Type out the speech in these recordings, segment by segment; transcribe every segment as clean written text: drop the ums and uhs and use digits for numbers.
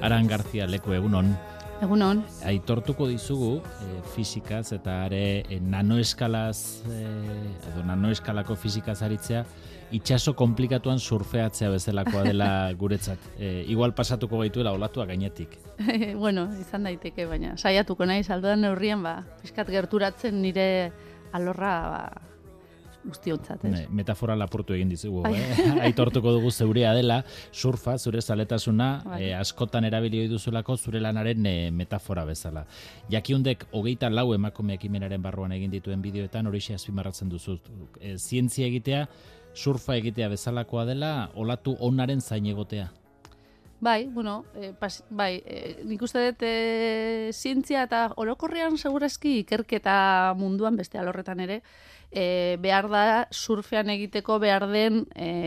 Aran Garzia leku egunon. Egunon. Aitortuko dizugu fisikaz eta are nanoeskalaz edo nanoeskalako fisikaz aritzea itxaso komplikatuan surfeatzea bezalakoa dela guretzat. Igual pasatuko gaituela olatua gainetik. Bueno, izan daiteke, baina saiatuko nahi saldudan neurrien, pixkat gerturatzen nire alorra guztiontzat, ez? Metafora lapurtu egin dizugu, Aitortuko dugu zeurea dela, surfa, zure zaletasuna, askotan erabili ohi duzulako zure lanaren metafora bezala. Jakiundek 24 emakume ekimenaren barruan egin dituen bideoetan horixe azpimarratzen duzu. Zientzia egitea, surfa egitea bezalakoa dela, olatu onaren zain egotea. Bai, bueno, nik uste dut zientzia eta orokorrean segurazki ikerketa munduan beste alorretan ere, behar da surfean egiteko behar den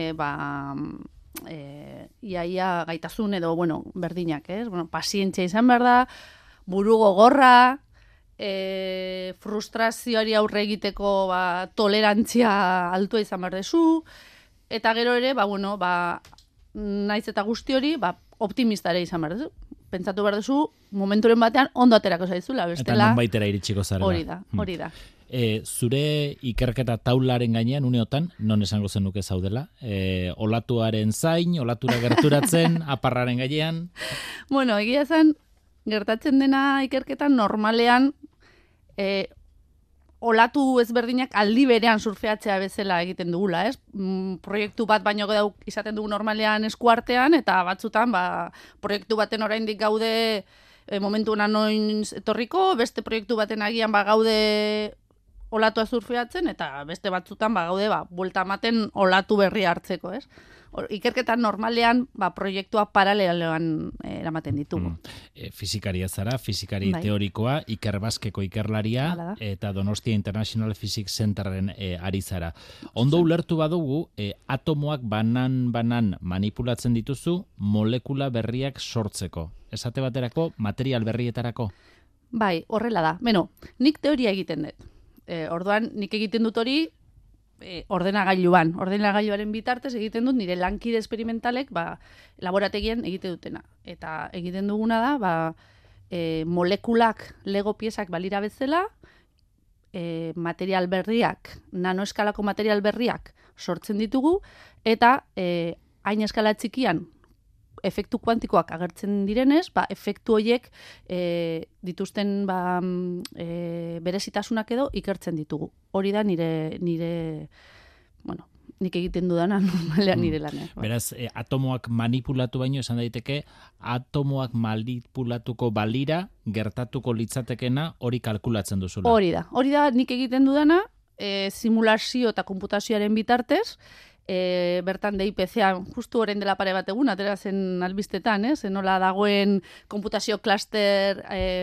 iaia gaitasun edo, berdinak, ez? Pazientzia izan behar da, buru gogorra, frustrazioari aurre egiteko tolerantzia altua izan behar dezu, eta gero ere, naiz eta guzti hori, optimista ere izan behar dezu. Pentsatu behar duzu, momenturen batean ondo aterako zaizula, bestela... Eta nonbaitera iritsiko zarela. Hori da. Zure ikerketa taularen gainean, uneotan, non esango zenuke zaudela? Olatuaren zain, olatura gerturatzen, aparraren gainean? Bueno, egia zen, gertatzen dena ikerketan normalean, olatu ezberdinak aldi berean surfeatzea bezala egiten dugula, ez? Proiektu bat baino izaten dugu normalean eskuartean, eta batzutan, proiektu baten oraindik gaude momentu noiz etorriko, beste proiektu baten agian gaude olatua surfeatzen, eta beste batzutan gaude buelta ematen olatu berri hartzeko, ez? Ikerketan normalean proiektua paraleloan eramaten ditugu. Fizikaria zara, fizikari teorikoa, Iker Baskeko ikerlaria, eta Donostia International Physics Centerren ari zara. Ondo ulertu badugu, atomoak banan manipulatzen dituzu molekula berriak sortzeko. Esate baterako, material berrietarako? Bai, horrela da. Nik teoria egiten dut. Orduan, nik egiten dut hori ordenagailuaren bitartez egiten dut nire lankide esperimentalek laborategian egite dutena. Eta egiten duguna da, molekulak, lego piezak balira bezala, material berriak, nanoeskalako material berriak sortzen ditugu, eta hain eskala txikian efektu kuantikoak agertzen direnez, efektu horiek dituzten berezitasunak edo ikertzen ditugu. Hori da nik egiten dudana normalean nire lanean. Beraz, atomoak manipulatu baino esan daiteke, atomoak manipulatuko balira gertatuko litzatekena hori kalkulatzen duzula. Hori da nik egiten dudana, simulazio eta konputazioaren bitartez, bertan DIPC-a justu orain dela pare bat egun, atera zen albistetan, nola dagoen konputazio klaster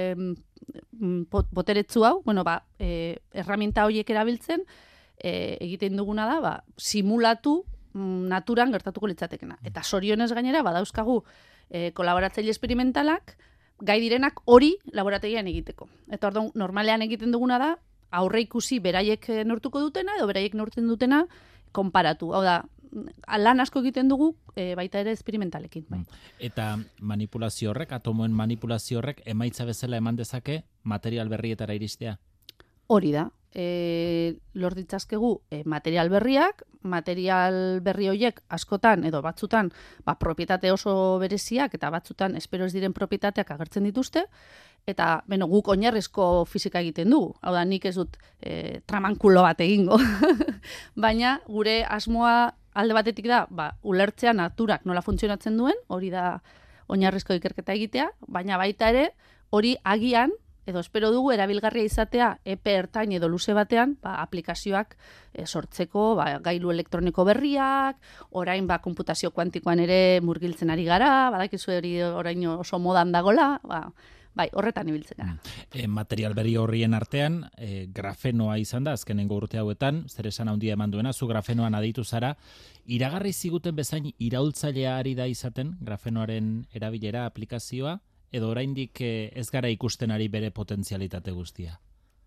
boteretsu hau, erraminta horiek erabiltzen, egiten duguna da, simulatu naturan gertatuko litzatekena. Eta sorionez gainera, badauzkagu kolaboratzaile esperimentalak, gai direnak hori laborategian egiteko. Eta orduan, normalean egiten duguna da, aurre ikusi beraiek neurtuko dutena, edo beraiek neurtzen dutena, konparatu. Hau da, lan asko egiten dugu, baita ere esperimentalekin. Eta manipulazio horrek, atomoen manipulazio horrek, emaitza bezala eman dezake material berrietara iristea? Hori da. Lor ditzazkegu material berriak, material berri horiek askotan edo batzutan propietate oso bereziak eta batzutan espero ez diren propietateak agertzen dituzte, eta guk oinarrizko fisika egiten dugu. Hau da, nik ez dut tramankulo bat egingo. Baina gure asmoa alde batetik da, ulertzea naturak nola funtzionatzen duen, hori da oinarrizko ikerketa egitea, baina baita ere, hori agian, edo espero dugu erabilgarria izatea epe ertain edo luze batean, aplikazioak sortzeko, gailu elektroniko berriak, orain konputazio kuantikoan ere murgiltzen ari gara, badakizu hori orain oso modan dagola, horretan ibiltzen gara. Material berri horrien artean, grafenoa izan da, azkenengo urte hauetan, zer esan handia eman duena, zu grafenoan aditu zara, iragarri ziguten bezain iraultzailea ari da izaten, grafenoaren erabilera aplikazioa, edo oraindik ez gara ikusten ari bere potentzialitate guztia?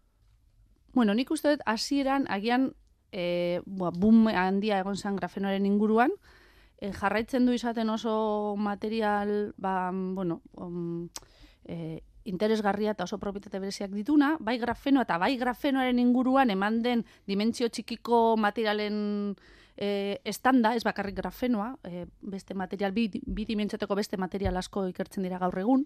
Nik uste dut hasieran agian boom handia egon zen grafenoaren inguruan, jarraitzen du izaten oso material, interesgarria eta oso propietate bereziak dituna, bai grafenoa eta bai grafenoaren inguruan eman den dimentsio txikiko materialen estanda, ez bakarrik grafenoa, beste material, bi dimentsioteko beste material asko ikertzen dira gaur egun.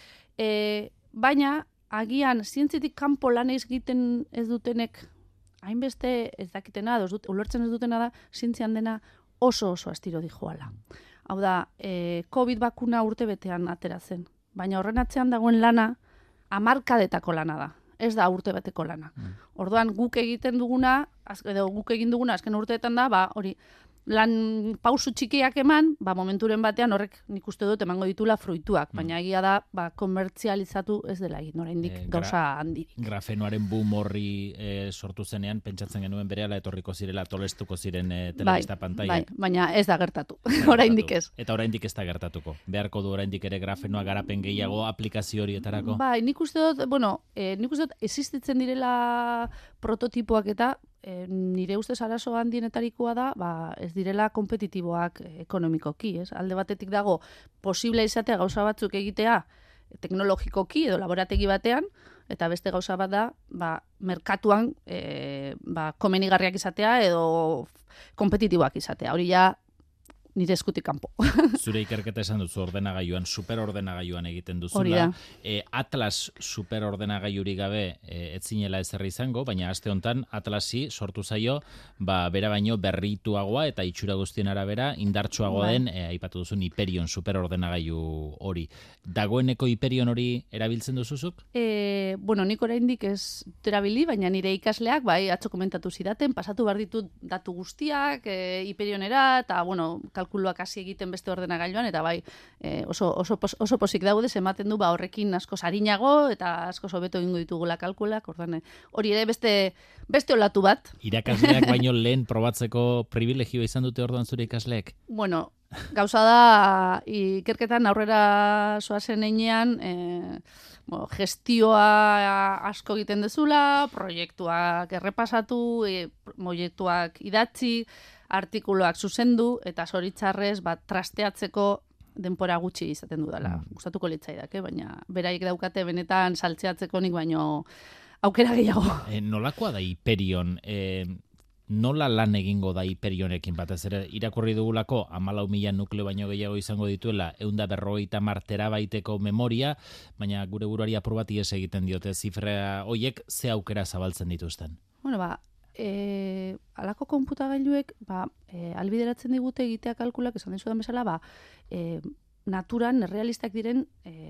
Baina, agian, zientzitik kanpo lan egiten ez dutenek, hainbeste ez dakitena, ulertzen ez dutena da, zientzian dena oso astiro dijoala. Hau da, COVID bakuna urte betean atera zen. Baina horren atzean dagoen lana, hamarkadetako lana da. Ez da urte beteko lana. Orduan guk egiten duguna, edo guk egin duguna azken urteetan da, hori, lan pausu txikiak eman, momenturen batean horrek nik uste dut emango ditula fruituak, baina egia da, komertzializatu ez dela egin, oraindik gauza handirik. Grafenoaren boom horri sortu zenean, pentsatzen genuen berehala etorriko zirela tolestuko ziren telebista pantaila. Bai, baina ez da gertatu, oraindik ez. Eta oraindik ez da gertatuko. Beharko du oraindik ere grafenoa garapen gehiago aplikazio horietarako? Bai, nik uste dut existitzen direla prototipoak eta nire ustez arazo handienetarikoa da, ez direla kompetitiboak ekonomikoki, ez? Alde batetik dago posible izatea gauza batzuk egitea teknologikoki edo laborategi batean, eta beste gauza bat da, merkatuan komenigarriak izatea edo kompetitiboak izatea. Hori ja nire eskutik kanpo. Zure ikerketa esan duzu ordenagailuan, superordenagailuan egiten duzula. Hori da. Atlas superordenagailurik gabe ez zinela ezerri izango, baina aste hontan Atlasi sortu zaio, bera baino berrituagoa eta itxura guztien arabera indartsuagoa den, aipatu duzun Hyperion superordenagailu hori. Dagoeneko Hyperion hori erabiltzen duzuzuk? Nik oraindik ez erabili, baina nire ikasleak, atzo komentatu zidaten, pasatu behar ditut datu guztiak, Hyperionera, eta, kalkuluak hasi egiten beste ordenagailuan, eta oso pozik daude, ematen du horrekin asko sarinago, eta asko hobeto egingo ditugula kalkulak, hori ere beste olatu bat. Irakasleak baino lehen probatzeko privilegioa izan dute orduan zure ikasleek? Gauza da, ikerketan aurrera zoazen einean, gestioa asko egiten dezula, proiektuak errepasatu, proiektuak idatzi, artikuluak zuzendu, eta zoritzarrez trasteatzeko denpora gutxi izaten dudala. Gustatuko litzaidake, baina beraiek daukate benetan saltzeatzeko nik baino aukera gehiago. Nolakoa da Hyperion? Nola lan egingo da Hyperionekin batez ere? Irakurri dugulako 14.000 nukleo baino gehiago izango dituela, 150 terabaiteko memoria, baina gure buruari apur bat ihes egiten diote zifra hoiek ze aukera zabaltzen dituzten? Alako konputagailuek albideratzen digute egitea kalkulak, esan dizudan bezala, naturan errealistak diren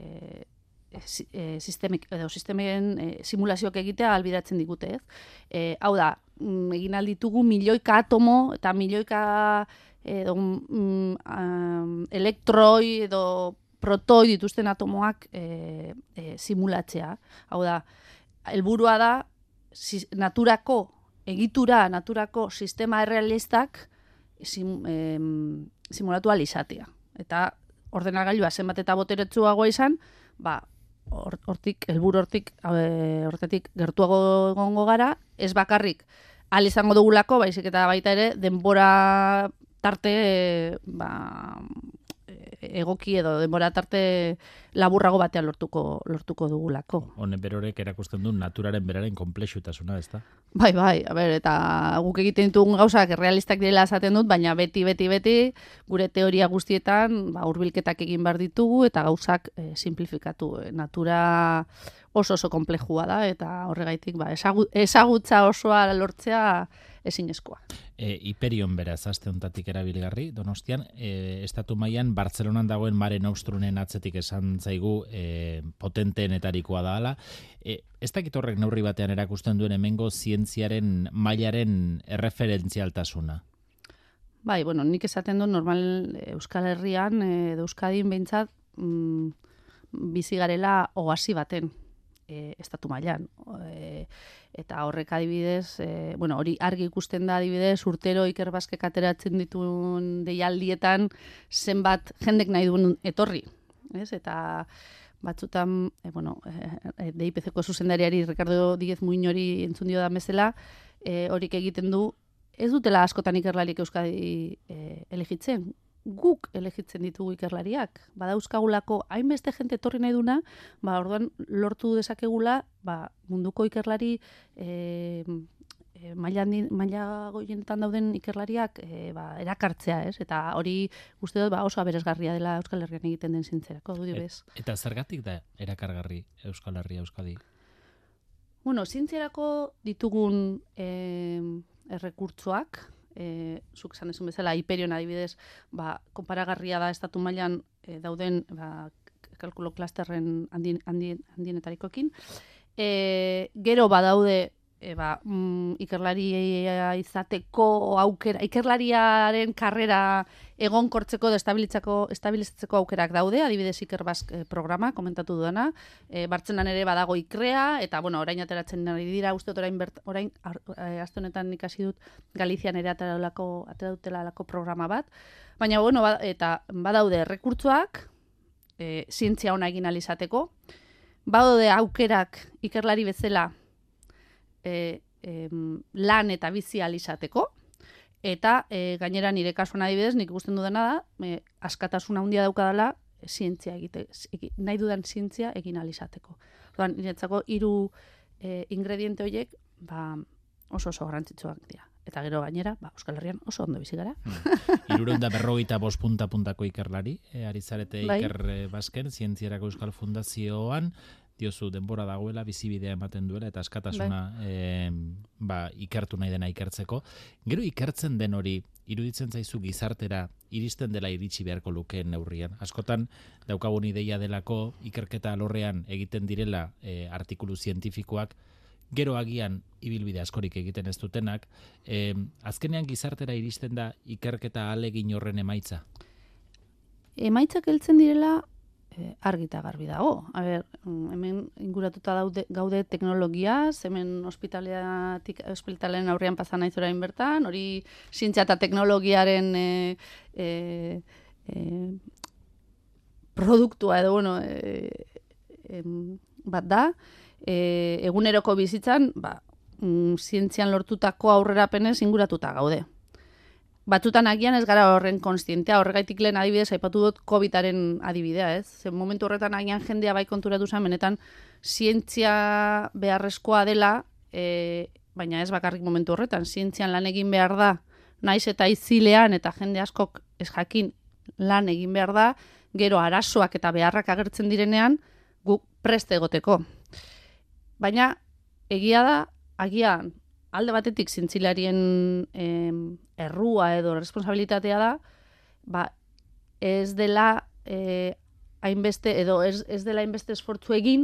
sistemen simulazioak egitea albideratzen digute, ez? Hau da, egin alditugu milioika atomo eta milioika elektroi edo protoi dituzten atomoak simulatzea. Hau da, helburua da naturako sistema errealistak simulatu ahal izatea. Eta ordenagailua zenbat eta boteretsuagoa izan, hortik gertuago egongo gara, ez bakarrik ahal izango dugulako, baizik eta baita ere denbora tarte egoki edo denbora tarte laburrago batean lortuko dugulako. Honen berorek erakusten du naturaren beraren konplexutasuna, ezta? Bai, eta guk egiten ditugun gauzak errealistak direla esaten dut, baina beti gure teoria guztietan hurbilketak egin behar ditugu eta gauzak simplifikatu. Natura oso konplexua da eta horregaitik ezagutza osoa lortzea ezinezkoa. Hyperion beraz, aste hontatik erabilgarri, Donostian, estatu mailan Bartzelonan dagoen Mare Nostrunen atzetik esan zaigu potenteenetarikoa da hala. Ez dakit horrek neurri batean erakusten duen hemengo zientziaren mailaren erreferentzialtasuna? Bai, nik esaten dut normal Euskal Herrian edo Euskadin behintzat bizi garela oasi baten estatu mailan. Eta horrek adibidez, hori argi ikusten da adibidez, urtero Iker Baskek ateratzen dituen deialdietan zenbat jendek nahi duen etorri. Eta batzutan, DIPC-ko zuzendariari Ricardo Díez Muñori entzun dio da bezala, horik egiten du, ez dutela askotan ikerlarik Euskadi elegitzen. guk elegitzen ditugu ikerlariak. Badauzkagulako hainbeste jente etorri nahi duna, orduan lortu dezakegula munduko ikerlari maila goienetan dauden ikerlariak erakartzea, ez? Eta hori uste dut oso aberasgarria dela Euskal Herrian egiten den zientzierako, dudi bez. Eta zergatik da erakargarri Euskal Herria Euskadi? Bueno, zientzierako ditugun errekurtsoak, zuk esan dezun bezala, Hyperion adibidez, konparagarria da estatu mailan dauden kalkulo klasterren handienetarikoekin. Gero badaude ikerlaria izateko aukera, ikerlariaren karrera egonkortzeko edo estabilizatzeko aukerak daude, adibidez Ikerbazk programa, komentatu dudana, Bartzenan ere badago ikrea, eta orain ateratzen ari dira, uste orain aste honetan ikasi dut Galizian ere atera dutela alako programa bat, baina eta badaude errekurtsoak, zientzia ona egin alizateko, badaude aukerak ikerlari bezala lan eta bizi alizateko, eta gainera nire kasuan adibidez, nik ikusten dudana da, askatasuna handia daukadala zientzia nahi dudan zientzia egin alizateko. Orduan, niretzako 3 ingrediente horiek oso garrantzitsuak dira. Eta gero gainera, Euskal Herrian oso ondo bizi gara. 355 puntako ikerlari, ari zarete Ikerbazken, Zientzierako Euskal Fundazioan, diozu denbora dagoela, bizibidea ematen duela, eta askatasuna ikertu nahi dena ikertzeko. Gero ikertzen den hori, iruditzen zaizu gizartera, iristen dela iritsi beharko lukeen neurrian. Askotan, daukagun ideia delako, ikerketa alorrean egiten direla artikulu zientifikoak, gero agian ibilbide askorik egiten ez dutenak, azkenean gizartera iristen da ikerketa ahalegin horren emaitza? Emaitzak heltzen direla argi eta garbi dago. Hemen inguratuta gaude teknologiaz, hemen ospitalaren aurrean pasa naiz orain bertan, hori zientzia eta teknologiaren produktua edo, bat da, eguneroko bizitzan, zientzian lortutako aurrerapenez inguratuta gaude. Batzutan agian ez gara horren konstientea, horregaitik lehen adibidez, aipatu dut COVID-aren adibidea, ez? Zer momentu horretan agian jendea konturatu zen, benetan zientzia beharrezkoa dela, baina ez bakarrik momentu horretan, zientzian lan egin behar da, naiz eta izilean eta jende askok ez jakin lan egin behar da, gero arazoak eta beharrak agertzen direnean, guk preste egoteko. Baina, egia da, agian, alde batetik zientzilarien errua edo responsabilitatea da, ez dela hainbeste edo ez dela hainbeste esfortzu egin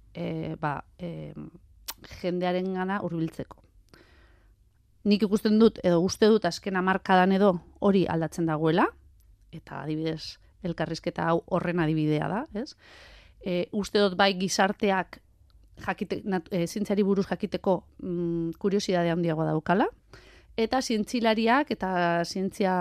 jendearen gana hurbiltzeko. Nik ikusten dut edo uste dut azken hamarkadan edo hori aldatzen dagoela, eta adibidez elkarrizketa hau horren adibidea da, ez? Uste dut bai gizarteak zientziari buruz jakiteko kuriosidadea handiagoa daukala, eta zientzilariak eta zientzia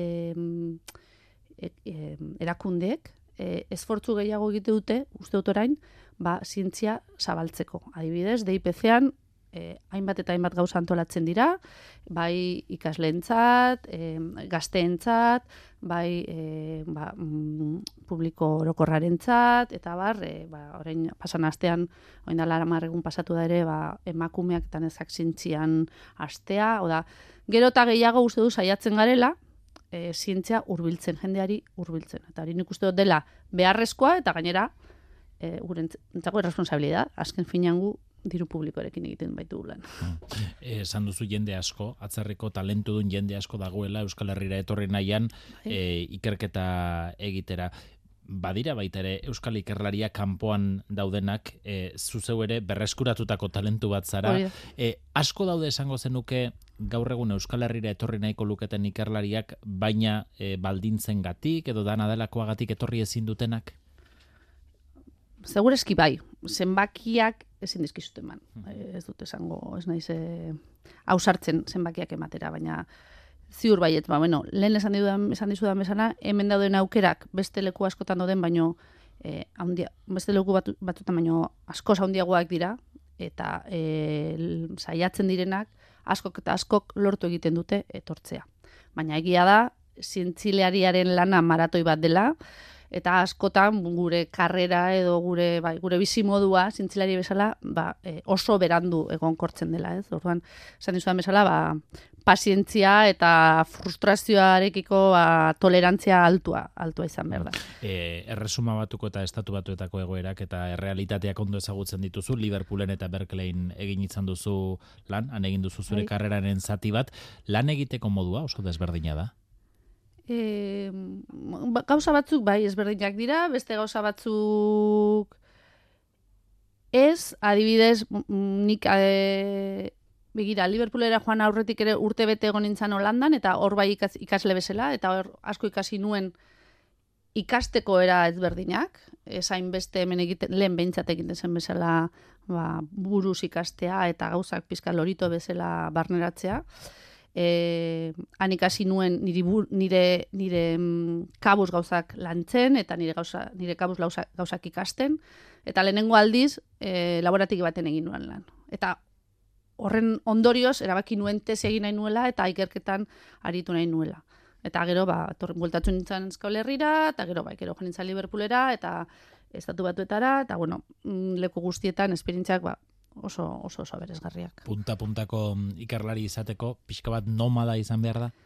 erakundeek esfortzu gehiago egite dute, uste dut orain, zientzia zabaltzeko. Adibidez, DIPC-an hainbat eta hainbat gauza antolatzen dira, bai ikasleentzat, gazteentzat, bai publiko orokorrarentzat, eta orain pasan astean, orain dela 10 egun pasatu da ere, emakumeak eta nezak zientzian astea, gero eta gehiago uste du saiatzen garela, zientzia hurbiltzen, jendeari hurbiltzen. Eta hori nik uste dut dela beharrezkoa, eta gainera, gurentzako irresponsabilidad, azken finean gu diru publikoarekin egiten baitu lan. Esan duzu jende asko, atzerriko talentu duen jende asko dagoela Euskal Herrira etorri nahian ikerketa egitera. Badira baita ere Euskal Ikerlaria kanpoan daudenak, zuzeu ere berreskuratutako talentu bat zara. Asko daude esango zenuke gaur egun Euskal Herrira etorri nahiko luketen ikerlariak, baina baldintzengatik edo dana delakoagatik etorri ezin dutenak? Segureski bai, zenbakiak ezin dizkizut eman. Ez dut esango, ez naiz ausartzen zenbakiak ematera, baina ziur baiet, lehen esan dizudan bezala, hemen dauden aukerak beste leku askotan dauden, baino beste leku batzutan baino askoz handiagoak dira, eta saiatzen direnak askok eta askok lortu egiten dute etortzea. Baina egia da, zientzialariaren lana maratoi bat dela, eta askotan gure karrera edo gure bizimodua zientzilari bezala oso berandu egonkortzen dela, ez? Orduan, esan dizudan bezala, pazientzia eta frustrazioarekiko tolerantzia altua izan behar da. Erresuma batuko eta estatu batuetako egoerak eta errealitateak ondo ezagutzen dituzu, Liverpoolen eta Berkeleyn egin izan duzu lan, han egin duzu zure karreraren zati bat, lan egiteko modua oso desberdina da? Gauza batzuk bai ezberdinak dira, beste gauza batzuk ez, adibidez, nik begira, Liverpoolera joan aurretik ere urte bete egon nintzen Holandan, eta hor bai ikasle bezala, eta hor asko ikasi nuen ikasteko era ezberdinak, esain beste hemen lehen behintzat egiten zen bezala buruz ikastea, eta gauzak pizka lorito bezala barneratzea. Han ikasi nuen nire kabuz gauzak lantzen, eta nire kabuz gauzak ikasten, eta lehenengo aldiz laborategi baten egin nuen lan. Eta horren ondorioz, erabaki nuen tesi egin nahi nuela, eta ikerketan aritu nahi nuela. Eta gero, bueltatu nintzen Euskal Herrira, eta gero joan nintzen Liverpoolera, eta estatu batuetara, eta leku guztietan esperientziak oso beresgarriak. Punta-puntako ikerlari izateko, pixka bat nomada izan behar da?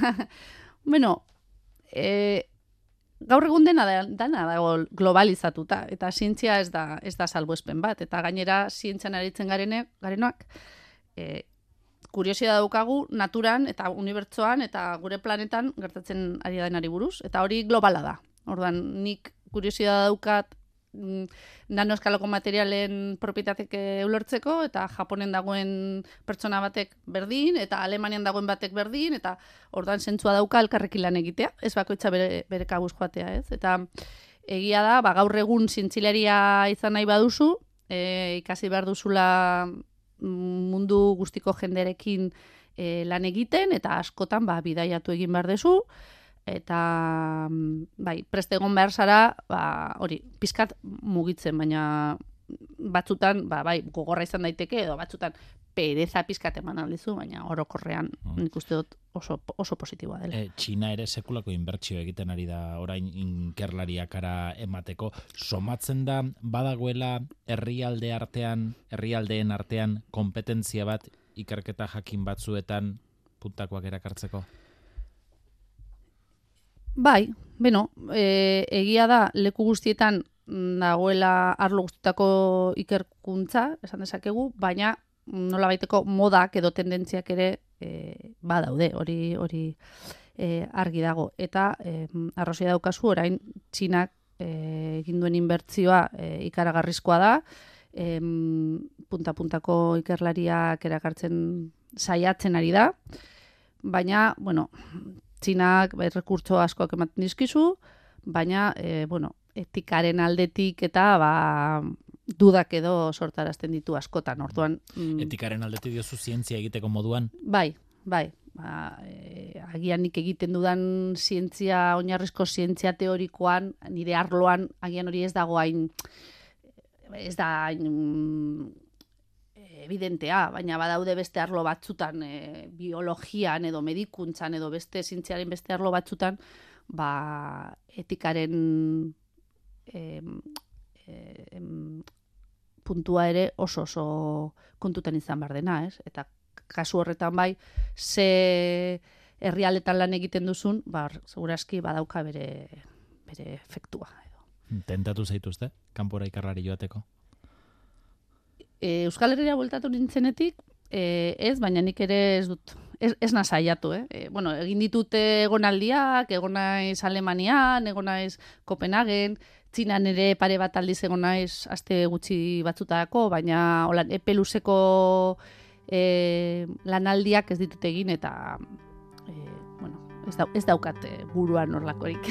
Gaur egun dena dago globalizatuta, eta zientzia ez da salbuespen bat, eta gainera zientzian aritzen garenak, kuriosia daukagu naturan eta unibertsoan eta gure planetan gertatzen ari denari buruz, eta hori globala da. Orduan, nik kuriosia daukat nanoeskalako materialen propietatek ulertzeko, eta Japonen dagoen pertsona batek berdin, eta Alemanian dagoen batek berdin, eta orduan zentzua dauka elkarrekin lan egitea, ez bakoitza bere kabuz joatea, ez? Eta egia da, gaur egun zientzilaria izan nahi baduzu, ikasi behar duzula mundu guztiko jenderekin lan egiten, eta askotan bidaiatu egin behar duzu, eta preste egon behar zara, hori, pizkat mugitzen, baina batzutan, gogorra izan daiteke, edo batzutan pereza pizkat eman aldizu, baina orokorrean nik uste dut oso positiboa dela. Txina ere sekulako inbertsio egiten ari da orain ikerlariakara emateko. Somatzen da badagoela herrialdeen artean kompetentzia bat ikerketa jakin batzuetan puntakoak erakartzeko? Bai, egia da leku guztietan dagoela arlo guztietako ikerkuntza, esan dezakegu, baina nolabaiteko modak edo tendentziak ere badaude, hori argi dago. Eta arrazoi daukazu, orain Txinak egin duen inbertzioa ikaragarrizkoa da, punta-puntako ikerlariak erakartzen saiatzen ari da, baina, Txinak rekurtso askoak ematen dizkizu, baina, etikaren aldetik eta dudak edo sortarazten ditu askotan, orduan. Etikaren aldetik diozu zientzia egiteko moduan? Bai. Agian nik egiten dudan zientzia, oinarrizko zientzia teorikoan, nire arloan, agian hori ez da hain evidentea, baina badaude beste arlo batzutan, biologian edo medikuntzan edo beste zientziaren beste arlo batzutan, etikaren puntua ere oso kontutan izan behar dena, ez? Eta kasu horretan ze herrialdetan lan egiten duzun, segurazki badauka bere efektua. Tentatu zaituzte, kanpora ikerlari joateko? Euskal Herria bueltatu nintzenetik, ez, baina nik ere ez dut, ez nasaiatu, egin ditute egonaldiak, egon naiz Alemanian, egon naiz Kopenhagen, Txinan ere pare bat aldiz egon naiz aste gutxi batzutarako, baina epe luzeko lanaldiak ez ditut egin, eta ez daukat buruan horlakorik.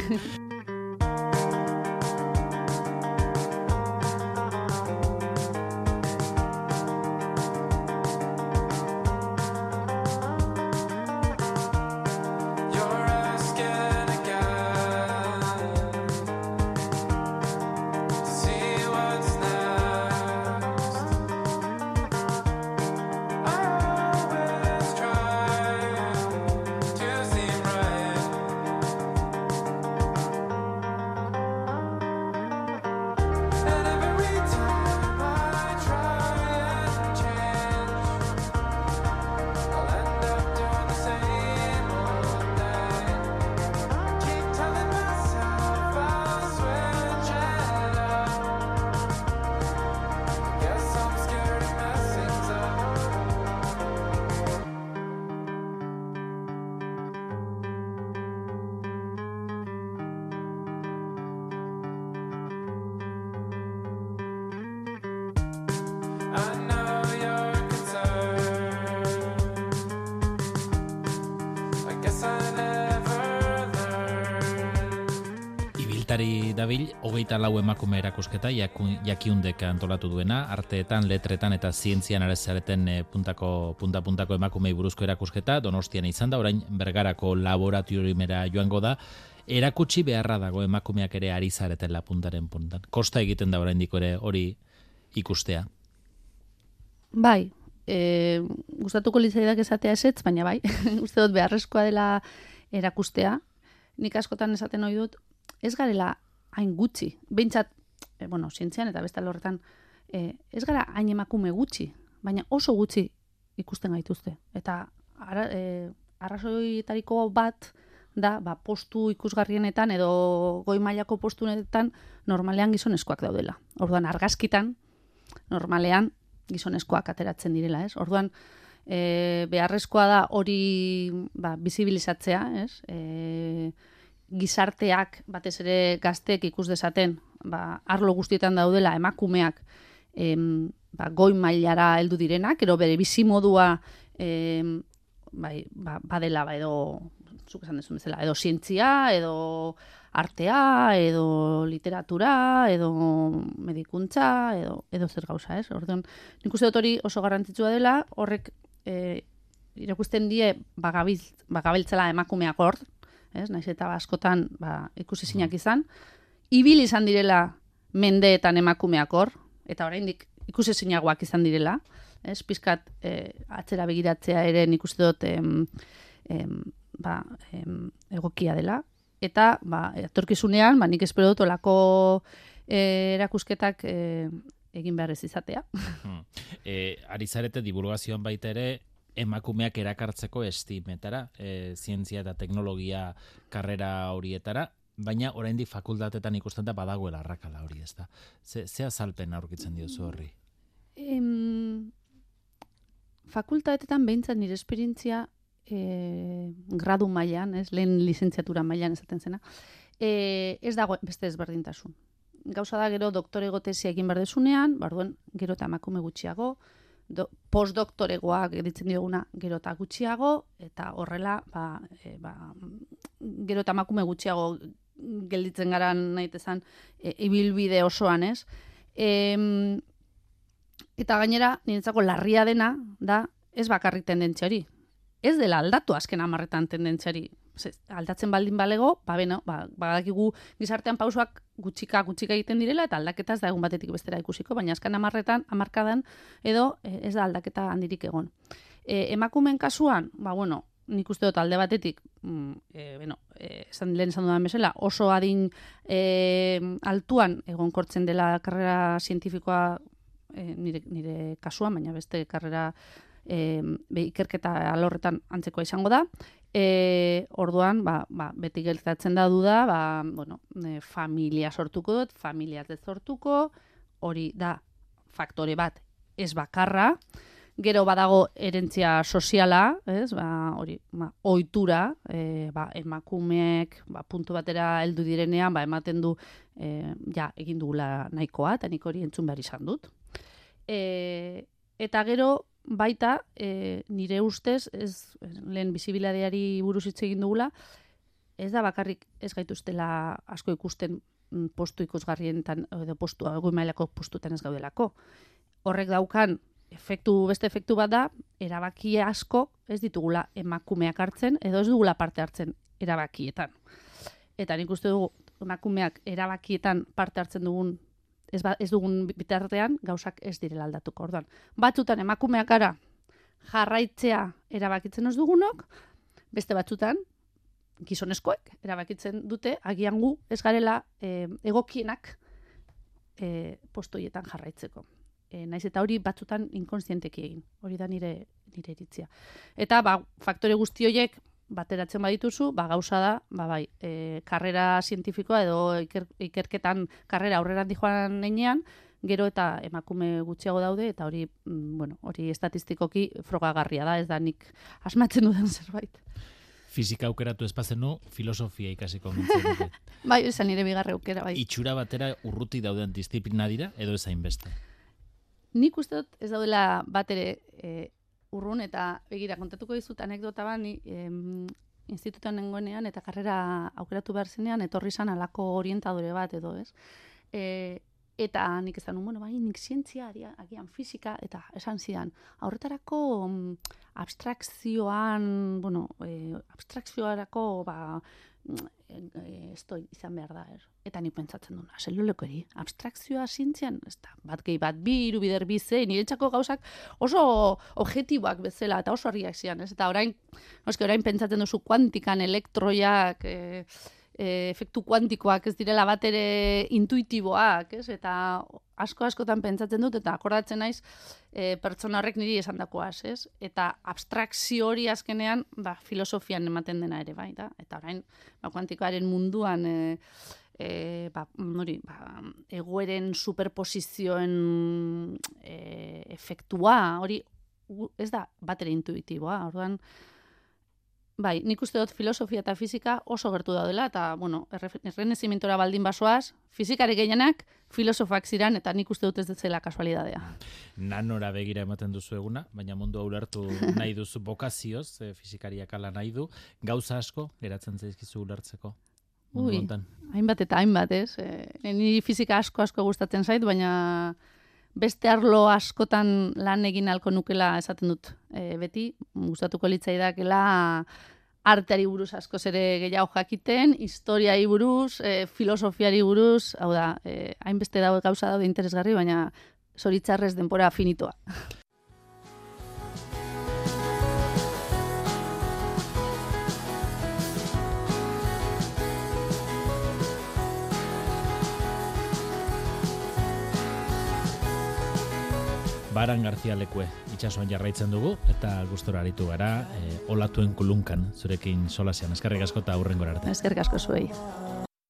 dabil 24 emakume erakusketa jakiundek antolatu duena, arteetan, letretan eta zientzian arezareten punta-puntako emakumei buruzko erakusketa, Donostian izan da, orain Bergarako laboratoriumera joango da, erakutsi beharra dago emakumeak ere ari zareten puntaren puntan. Kosta egiten da oraindiko ere hori ikustea. Bai, gustatuko litzaidak esatea ezetz, baina bai, uste dut beharrezkoa dela erakustea. Nik askotan esaten ohi dut, ez garela hain gutxi. Behintzat, zientzian eta beste alorretan, ez gara hain emakume gutxi, baina oso gutxi ikusten gaituzte. Eta arrazoietariko bat da, postu ikusgarrienetan edo goi mailako postunetan normalean gizonezkoak daudela. Orduan, argazkitan, normalean gizonezkoak ateratzen direla, ez? Orduan, beharrezkoa da hori bizibilizatzea, ez? Gizarteak, batez ere gazteek ikus dezaten, arlo guztietan daudela emakumeak goi mailara heldu direnak, ero bere bizimodua badela, edo, zuk esan dezun bezala, edo zientzia, edo artea, edo literatura, edo medikuntza, edo zer gauza, ez? Orduan, nik uste dut hori oso garrantzitsua dela, horrek irakusten die bagabiltzela emakumeak hor, ez? Naiz eta askotan ikusezinak izan, ibil izan direla mendeetan emakumeak hor, eta oraindik ikusezinagoak izan direla, ez? Pizkat atzera begiratzea ere nik uste dut egokia dela, eta etorkizunean nik espero dut olako erakusketak egin behar ez izatea. Ari zarete divulgazioan baita ere, emakumeak erakartzeko estimetara, zientzia eta teknologia karrera horietara, baina oraindik fakultatetan ikusten da badagoela arrakala hori, ez da? Ze azalpen aurkitzen diozu horri? Fakultatetan behintzat nire esperientzia gradu mailan, lehen lizentziatura mailan esaten zena, ez dago beste ezberdintasun. Gauza da gero doktorego tesia egin behar dezunean, barduan gero eta emakume gutxiago, postdoktoregoak editzen dioguna gero eta gutxiago, eta horrela gero eta emakume gutxiago gelditzen gara nahitezan ibilbide osoan, ez? Eta gainera, niretzako larria dena, da ez bakarrik tendentzia hori. Ez dela aldatu azken 10 tendentziari. Aldatzen baldin balego, badakigu gizartean pausoak gutxika egiten direla, eta aldaketa ez da egun batetik bestera ikusiko, baina azken 10 hamarkadan edo ez da aldaketa handirik egon. Emakumeen kasuan, nik uste dut alde batetik, lehen esan dudan bezala, oso adin altuan egonkortzen dela karrera zientifikoa nire kasuan, baina beste karrera ikerketa alorretan antzekoa izango da. Orduan, beti gertatzen da duda, familia sortuko dut, familia ez sortuko, hori da faktore bat ez bakarra, gero badago erentzia soziala, ez, hori, ohitura, emakumeek, puntu batera heldu direnean, ematen du, egin dugula nahikoa, eta nik hori entzun behar izan dut. Eta gero, baita, nire ustez, lehen bizibilitateari buruz hitz egin dugula, ez da bakarrik ez gaituztela asko ikusten postu ikusgarrietan, edo goi mailako postutan ez gaudelako. Horrek daukan beste efektu bat da, erabaki asko ez ditugula emakumeak hartzen, edo ez dugula parte hartzen erabakietan. Eta nik uste dugu, emakumeak erabakietan parte hartzen dugun ez dugun bitartean gauzak ez direla aldatuko. Orduan, batzutan emakumeak gara jarraitzea erabakitzen ez dugunok, beste batzutan gizonezkoek erabakitzen dute agian gu ez garela egokienak postoietan jarraitzeko. Naiz eta hori batzutan inkonstienteki egin. Hori da nire iritzia. Eta faktore guzti horiek bateratzen badituzu, gauza da, karrera zientifikoa edo ikerketan karrera aurrera joan nenean, gero eta emakume gutxiago daude, eta hori, hori estatistikoki frogagarria da, ez da nik asmatzen duden zerbait. Fizika aukeratu espazenu, filosofia ikasiko nintzen dute. Bai, esan nire bigarre aukera, bai. Itxura batera urruti dauden disiplina dira, edo ez hainbeste? Nik uste dut ez daudela bat ere urrun, eta begira, kontatuko dizut anekdota bani, institutuan nengoenean, eta karrera aukeratu behar zenean, etorri zan alako orientadore bat edo, ez? Eta nik esan, nik zientzia, agian fizika, eta esan zidan, aurretarako abstrakzioarako, izan behar da, Eta nik pentsatzen duna, zeluleko abstrakzioa zientzian, ez da, bat gehi bat, bi, iru bider bi ze, niretzako gauzak oso objektiboak bezala, eta oso argiak zian, ez? Eta orain pentsatzen duzu kuantikan, elektroiak, efektu kuantikoak ez direla bat ere intuitiboak, ez? Eta askotan pentsatzen dut, eta akordatzen naiz pertsona horrek niri esandakoaz, ez? Eta abstrakzio hori azkenean, filosofian ematen dena ere, bai, da? Eta orain, kuantikoaren munduan, egoeren superposizioen efektua, hori ez da bat ere intuitiboa, orduan, bai, nik uste dut filosofia eta fizika oso gertu daudela, eta, errenezimentora baldin basoaz, fizikari gehienak filosofak ziren, eta nik uste dut ez zela kasualidadea. Nanora begira ematen duzu eguna, baina mundu ulertu nahi duzu bokazioz, fizikariak ala nahi du, gauza asko geratzen zaizkizu ulertzeko. Hainbat eta hainbat, ez? Niri fizika asko gustatzen zait, baina beste arlo askotan lan egin halko nukela esaten dut. Beti, gustatuko litzaidakela arteari buruz askoz ere gehiago jakiten, historiari buruz, filosofiari buruz, hau da, hainbeste gauza daude interesgarri, baina zoritzarrez denbora finitoa. Baran Garzia lekue, itxasoan jarraitzen dugu, eta gustora aritu gara, olatuen kulunkan, zurekin solasean. Eskerrik asko eta hurrengora arte. Eskerrik asko zuei.